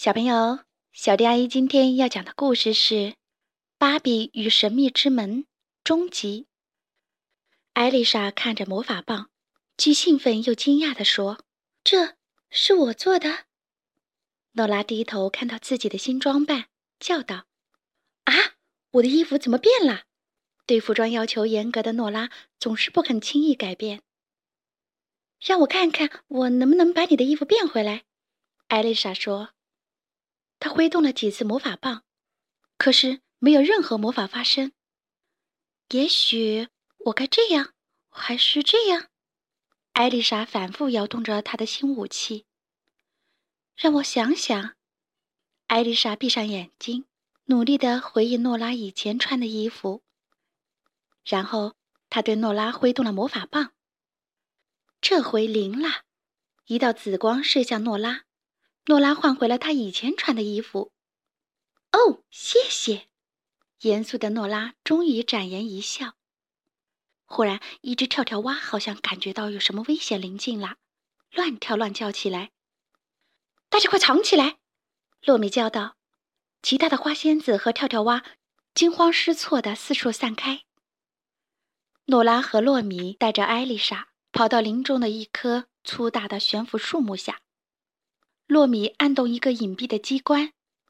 小朋友，小迪阿姨今天要讲的故事是《芭比与神秘之门》终极。艾丽莎看着魔法棒，既兴奋又惊讶地说：“这是我做的？”诺拉低头看到自己的新装扮，叫道：“啊，我的衣服怎么变了？”对服装要求严格的诺拉总是不肯轻易改变。让我看看我能不能把你的衣服变回来，艾丽莎说。她挥动了几次魔法棒，可是没有任何魔法发生。也许我该这样，还是这样？艾丽莎反复摇动着她的新武器。让我想想。艾丽莎闭上眼睛，努力地回忆诺拉以前穿的衣服。然后她对诺拉挥动了魔法棒。这回灵了，一道紫光射向诺拉，诺拉换回了她以前穿的衣服。哦，谢谢。严肃的诺拉终于展颜一笑。忽然，一只跳跳蛙好像感觉到有什么危险临近了，乱跳乱叫起来。大家快藏起来！洛米叫道。其他的花仙子和跳跳蛙惊慌失措地四处散开。诺拉和洛米带着艾丽莎跑到林中的一棵粗大的悬浮树木下。洛米按动一个隐蔽的机关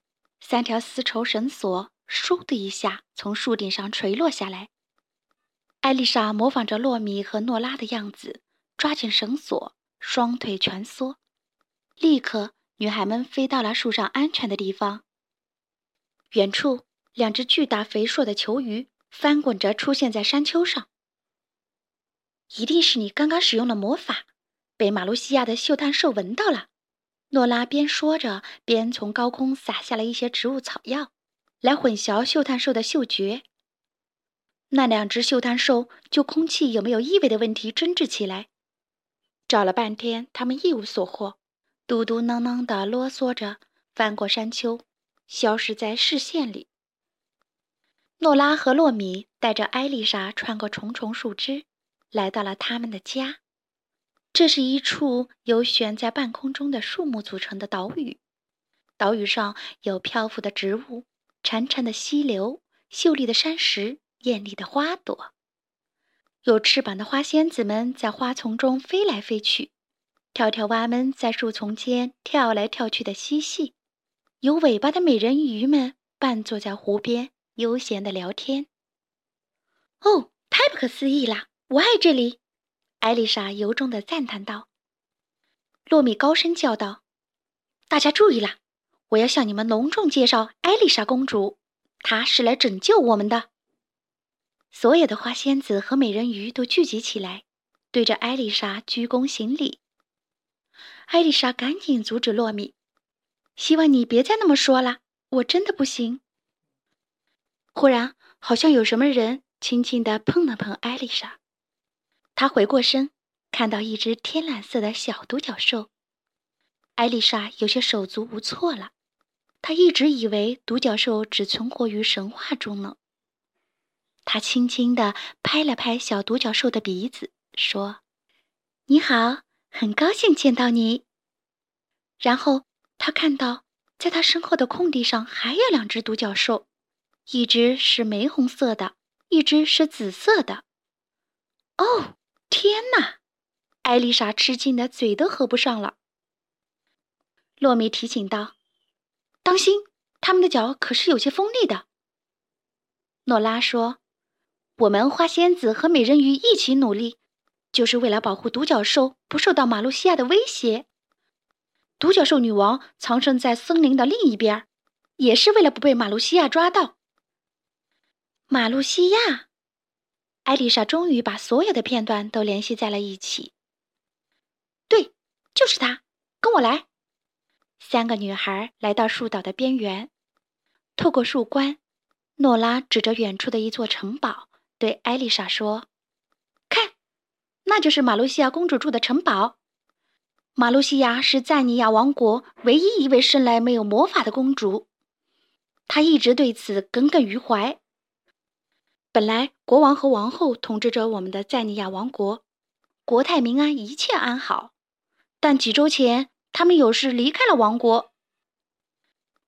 ，3条丝绸绳索倏的一下从树顶上垂落下来。艾丽莎模仿着洛米和诺拉的样子，抓紧绳索，双腿蜷缩。立刻，女孩们飞到了树上安全的地方。远处，2只巨大肥硕的球鱼翻滚着出现在山丘上。一定是你刚刚使用了魔法，被马路西亚的嗅探兽闻到了。诺拉边说着，边从高空撒下了一些植物草药，来混淆嗅探兽的嗅觉。那2只嗅探兽就空气有没有异味的问题争执起来。找了半天，他们一无所获，嘟嘟囔囔地啰嗦着翻过山丘，消失在视线里。诺拉和洛米带着艾丽莎穿过重重树枝，来到了他们的家。这是一处由悬在半空中的树木组成的岛屿，岛屿上有漂浮的植物、潺潺的溪流、秀丽的山石、艳丽的花朵。有翅膀的花仙子们在花丛中飞来飞去，跳跳蛙们在树丛间跳来跳去的嬉戏，有尾巴的美人鱼们半坐在湖边悠闲地聊天。哦，太不可思议了，我爱这里！艾丽莎由衷地赞叹道。洛米高声叫道：“大家注意了，我要向你们隆重介绍艾丽莎公主，她是来拯救我们的。”所有的花仙子和美人鱼都聚集起来，对着艾丽莎鞠躬行礼。艾丽莎赶紧阻止洛米：“希望你别再那么说了，我真的不行。”忽然，好像有什么人轻轻地碰了碰艾丽莎。她回过身，看到一只天蓝色的小独角兽。艾丽莎有些手足无措了，她一直以为独角兽只存活于神话中呢。她轻轻地拍了拍小独角兽的鼻子，说：“你好，很高兴见到你。”然后她看到，在她身后的空地上还有2只独角兽，一只是玫红色的，一只是紫色的。哦，天哪！艾丽莎吃惊的嘴都合不上了。洛米提醒道：“当心，他们的脚可是有些锋利的。”诺拉说：“我们花仙子和美人鱼一起努力，就是为了保护独角兽不受到马路西亚的威胁。独角兽女王藏身在森林的另一边，也是为了不被马路西亚抓到。”马路西亚，艾丽莎终于把所有的片段都联系在了一起。对，就是他，跟我来。3个女孩来到树岛的边缘，透过树冠，诺拉指着远处的一座城堡，对艾丽莎说：“看，那就是马路西亚公主住的城堡。马路西亚是赞尼亚王国唯一一位生来没有魔法的公主，她一直对此耿耿于怀。本来国王和王后统治着我们的赞尼亚王国，国泰民安，一切安好。但几周前，他们有事离开了王国。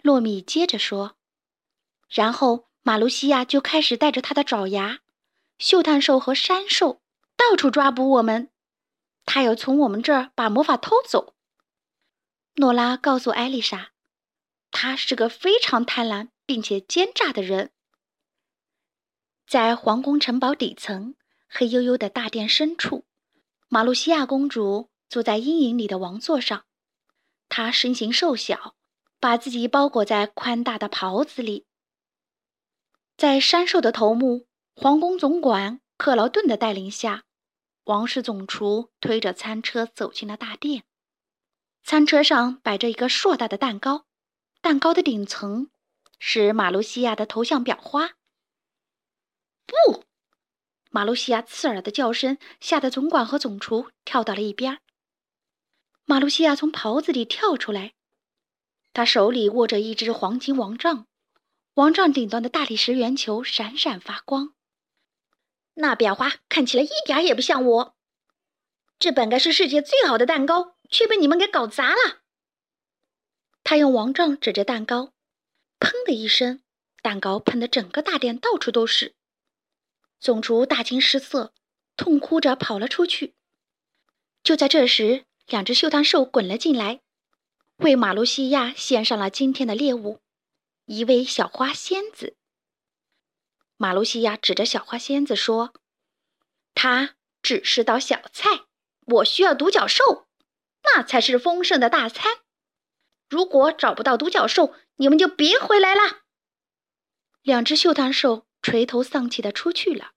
洛米接着说。然后马卢西亚就开始带着他的爪牙，嗅探兽和山兽到处抓捕我们，他要从我们这儿把魔法偷走。诺拉告诉艾丽莎，他是个非常贪婪并且奸诈的人。在皇宫城堡底层，黑黝黝的大殿深处，马路西亚公主坐在阴影里的王座上，她身形瘦小，把自己包裹在宽大的袍子里。在山兽的头目、皇宫总管克劳顿的带领下，王室总厨推着餐车走进了大殿。餐车上摆着一个硕大的蛋糕，蛋糕的顶层是马路西亚的头像裱花。不！马路西亚刺耳的叫声吓得总管和总厨跳到了一边。马路西亚从袍子里跳出来，他手里握着一只黄金王杖，王杖顶端的大理石圆球闪闪发光。那裱花看起来一点也不像我，这本该是世界最好的蛋糕，却被你们给搞砸了。他用王杖指着蛋糕，砰的一声，蛋糕喷得整个大殿到处都是。总厨大惊失色，痛哭着跑了出去。就在这时，两只嗅探兽滚了进来，为马路西亚献上了今天的猎物，一位小花仙子。马路西亚指着小花仙子说，它只是道小菜，我需要独角兽，那才是丰盛的大餐。如果找不到独角兽，你们就别回来了。两只嗅探兽垂头丧气地出去了。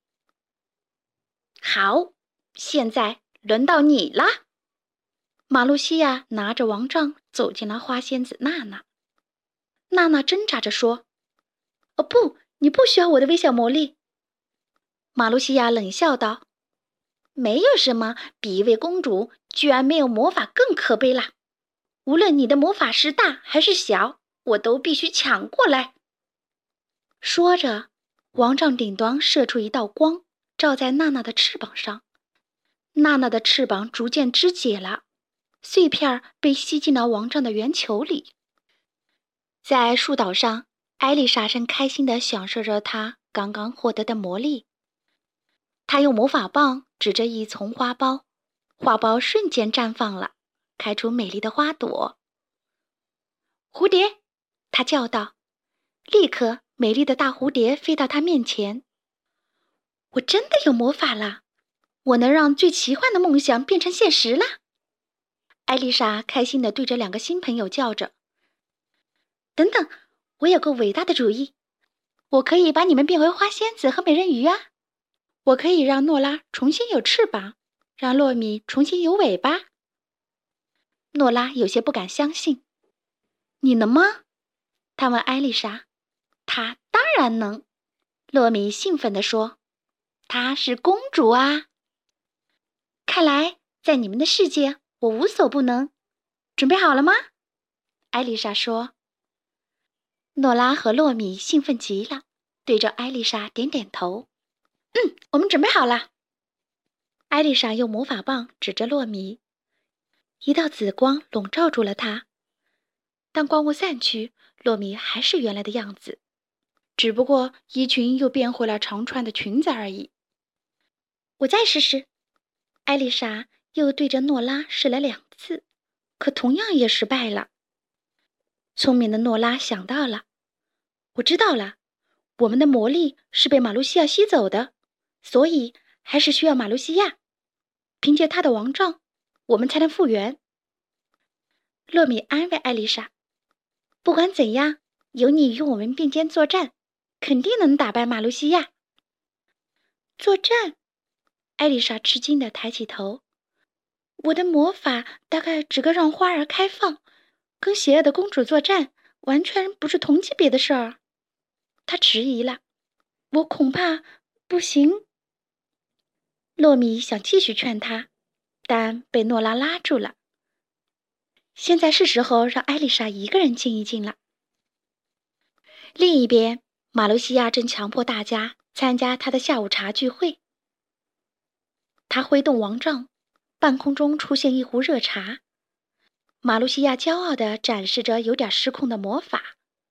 好，现在轮到你了。马路西亚拿着王杖走进了花仙子娜娜。娜娜挣扎着说，哦不，你不需要我的微小魔力。马路西亚冷笑道，没有什么比一位公主居然没有魔法更可悲啦。无论你的魔法是大还是小，我都必须抢过来。说着，王杖顶端射出一道光，照在娜娜的翅膀上。娜娜的翅膀逐渐肢解了，碎片被吸进了王杖的圆球里。在树岛上，艾丽莎正开心地享受着她刚刚获得的魔力。她用魔法棒指着一丛花苞，花苞瞬间绽放了，开出美丽的花朵。蝴蝶，她叫道。立刻，美丽的大蝴蝶飞到她面前。我真的有魔法了，我能让最奇幻的梦想变成现实了。艾丽莎开心地对着两个新朋友叫着。等等，我有个伟大的主意，我可以把你们变回花仙子和美人鱼啊！我可以让诺拉重新有翅膀，让洛米重新有尾巴。诺拉有些不敢相信。你能吗？他问艾丽莎。她当然能，洛米兴奋地说。她是公主啊！看来在你们的世界，我无所不能。准备好了吗？艾丽莎说。诺拉和洛米兴奋极了，对着艾丽莎点点头。我们准备好了。艾丽莎用魔法棒指着洛米，一道紫光笼罩住了他。当光雾散去，洛米还是原来的样子，只不过衣裙又变回了长穿的裙子而已。我再试试。艾丽莎又对着诺拉试了2次，可同样也失败了。聪明的诺拉想到了，我知道了，我们的魔力是被马路西亚吸走的，所以还是需要马路西亚。凭借他的王杖，我们才能复原。洛米安慰艾丽莎，不管怎样，有你与我们并肩作战，肯定能打败马路西亚。作战？艾丽莎吃惊地抬起头。我的魔法大概只够让花儿开放，跟邪恶的公主作战完全不是同级别的事儿。她迟疑了，我恐怕不行。洛米想继续劝她，但被诺拉拉住了。现在是时候让艾丽莎一个人静一静了。另一边，马路西亚正强迫大家参加他的下午茶聚会。他挥动王杖，半空中出现一壶热茶。马路西亚骄傲地展示着有点失控的魔法，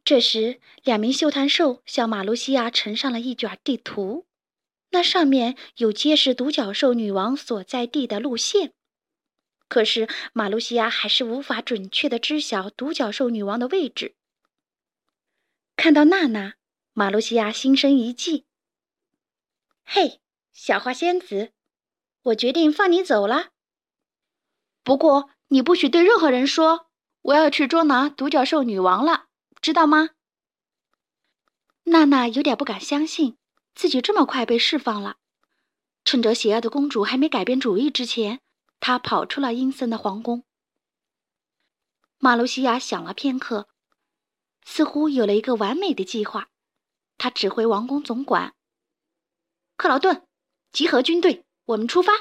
这时，2名绣炭兽向马路西亚呈上了一卷地图，那上面有揭示独角兽女王所在地的路线。可是马路西亚还是无法准确地知晓独角兽女王的位置。看到娜娜，马路西亚心生一计。嘿，小花仙子，我决定放你走了。不过你不许对任何人说，我要去捉拿独角兽女王了，知道吗？娜娜有点不敢相信，自己这么快被释放了。趁着邪恶的公主还没改变主意之前，她跑出了阴森的皇宫。马路西亚想了片刻，似乎有了一个完美的计划。他指挥王宫总管克劳顿，集合军队，我们出发。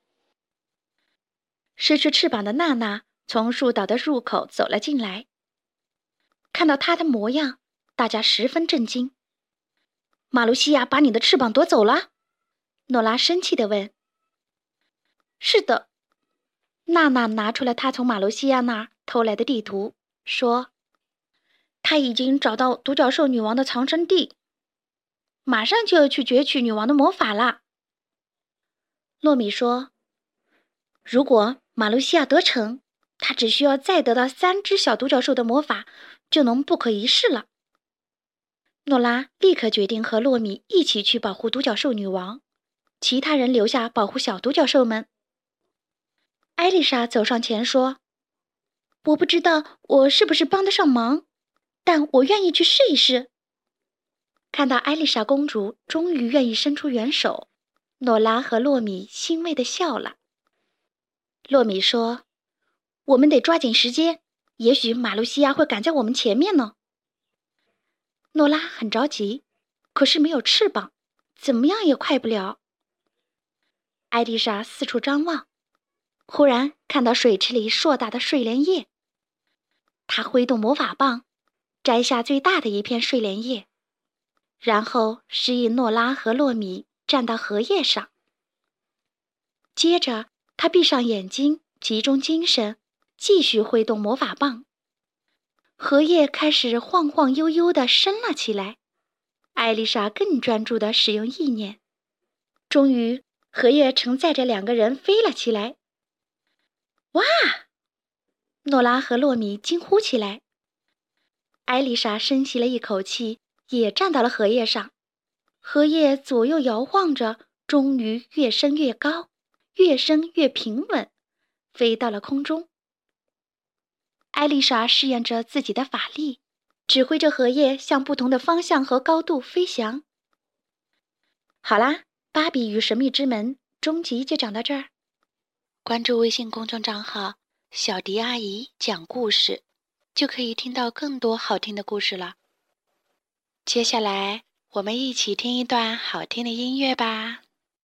失去翅膀的娜娜从树岛的入口走了进来。看到她的模样，大家十分震惊。马路西亚把你的翅膀夺走了？诺拉生气地问。是的。娜娜拿出了她从马路西亚那儿偷来的地图，说她已经找到独角兽女王的藏身地，马上就要去攫取女王的魔法了。洛米说，如果马路西亚得逞，他只需要再得到3只小独角兽的魔法，就能不可一世了。诺拉立刻决定和洛米一起去保护独角兽女王，其他人留下保护小独角兽们。艾丽莎走上前说，我不知道我是不是帮得上忙，但我愿意去试一试。看到艾丽莎公主终于愿意伸出援手，诺拉和洛米欣慰地笑了。洛米说，我们得抓紧时间，也许马路西亚会赶在我们前面呢。诺拉很着急，可是没有翅膀，怎么样也快不了。艾丽莎四处张望，忽然看到水池里硕大的睡莲叶。她挥动魔法棒，摘下最大的一片睡莲叶，然后示意诺拉和洛米站到荷叶上。接着她闭上眼睛，集中精神，继续挥动魔法棒。荷叶开始晃晃悠悠地升了起来，艾丽莎更专注地使用意念。终于，荷叶承载着2个人飞了起来。哇！诺拉和洛米惊呼起来。艾丽莎深吸了一口气，也站到了荷叶上。荷叶左右摇晃着，终于越升越高，越升越平稳，飞到了空中。艾丽莎试验着自己的法力，指挥着荷叶向不同的方向和高度飞翔。好啦，芭比与神秘之门终极就讲到这儿。关注微信公众账号小迪阿姨讲故事，就可以听到更多好听的故事了。接下来我们一起听一段好听的音乐吧。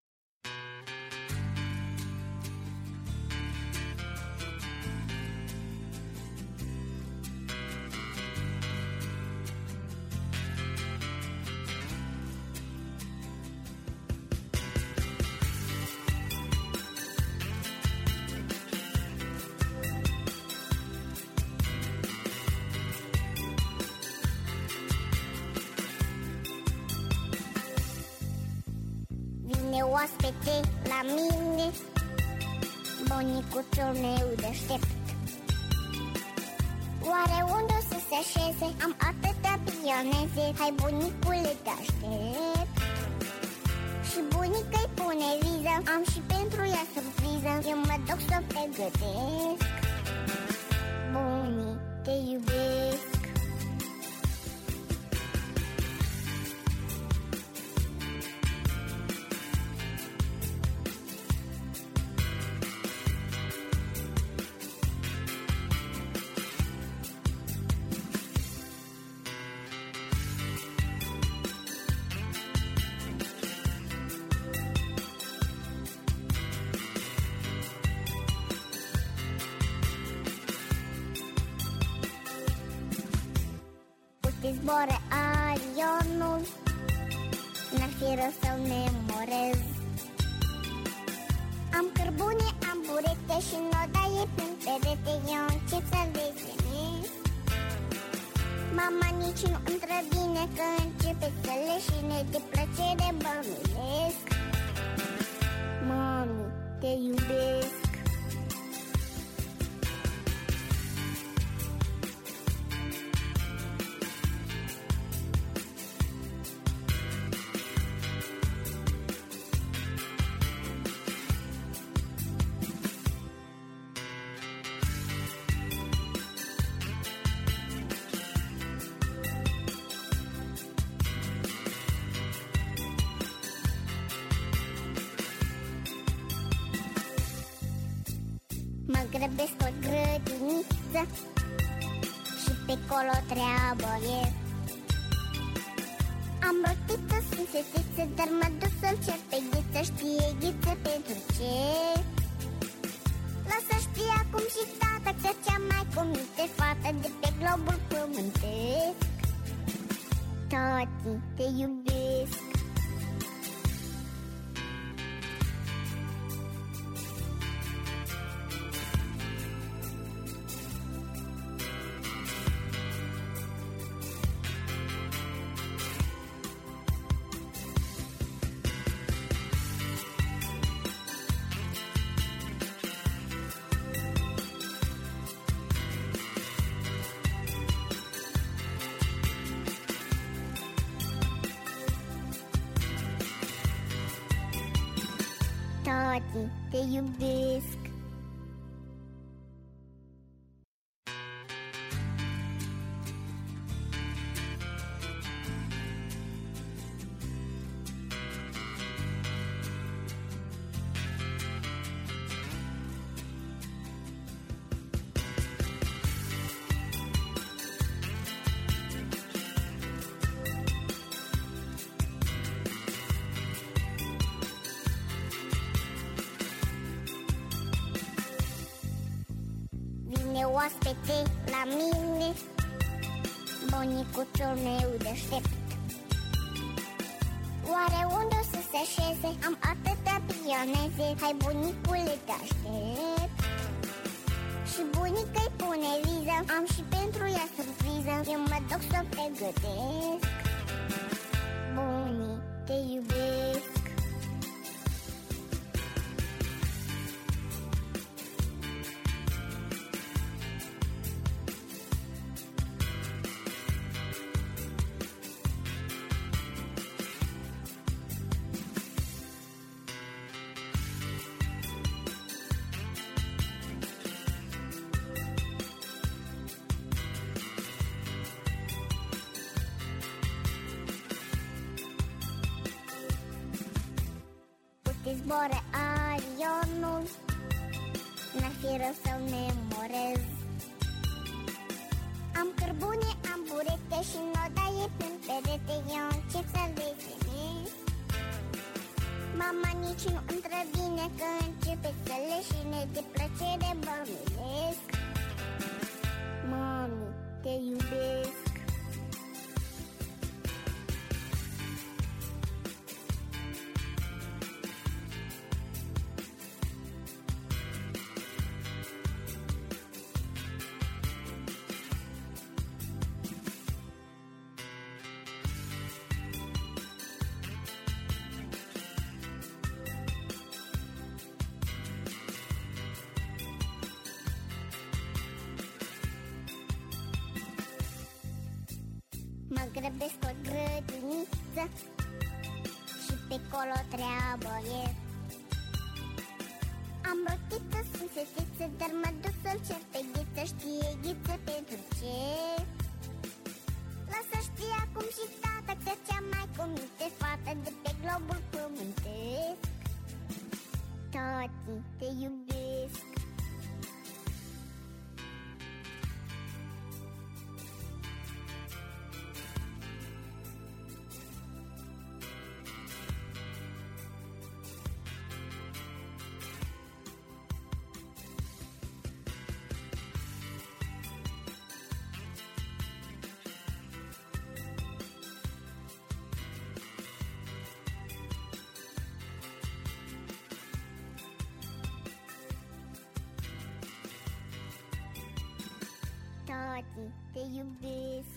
Vine oaspete la mine, bunicuțul meu deștept. Oare unde o să se așeze? Am atâtea pioneze. Hai, bunicule, te aștept. Și bunica-i pune viză, am și pentru ea surpriză. Eu mă duc să o pregătesc. Bunii, te iubesc. Zboară avionul, n-ar fi rău să-l memorez. Am cărbune, am burete și nodaie prin perete. Eu încep să-l desenez. Mă Mama nici nu întrevine că începe să leșine de plăcere bănuiesc. Mami, te iubesc. Mă grăbesc o grădiniță și pe colo treabă e. Am rotiță, sunt fetiță, dar mă duc să-l cer pe Ghiță. Știe Ghiță pentru ce? Lasă știe acum și tata că cea mai cuminte fată de pe globul pământesc. Tati, te iubesc. Tati, te iubesc. Vine oaspete la mine, bunicuțul meu deștept. Oare unde o să se așeze? Am atâtea pioneze. Hai bunicule, te aștept. Și bunica îi pune viză, am și pentru ea surpriză. Eu mă duc să o pregătesc. Bunii, te iubesc. Te zboare avionul, n-ar fi rău să-l memorez. Am cărbune, am burete și nodaie pe perete. Eu încep să-l desenez. Mama nici nu întrevine că începe să leșine de plăcere bănuiesc. Mami, te iubesc. Mă grăbesc o grădiniță și pe colo treabă e. Am rotiță, sunt fetiță, dar mă duc să-l cer pe Ghiță. Știe Ghiță pentru ce? Lasă știe acum și tata că cea mai cuminte fată de pe globul pământesc. Tati, te iubesc. Tati, te iubesc.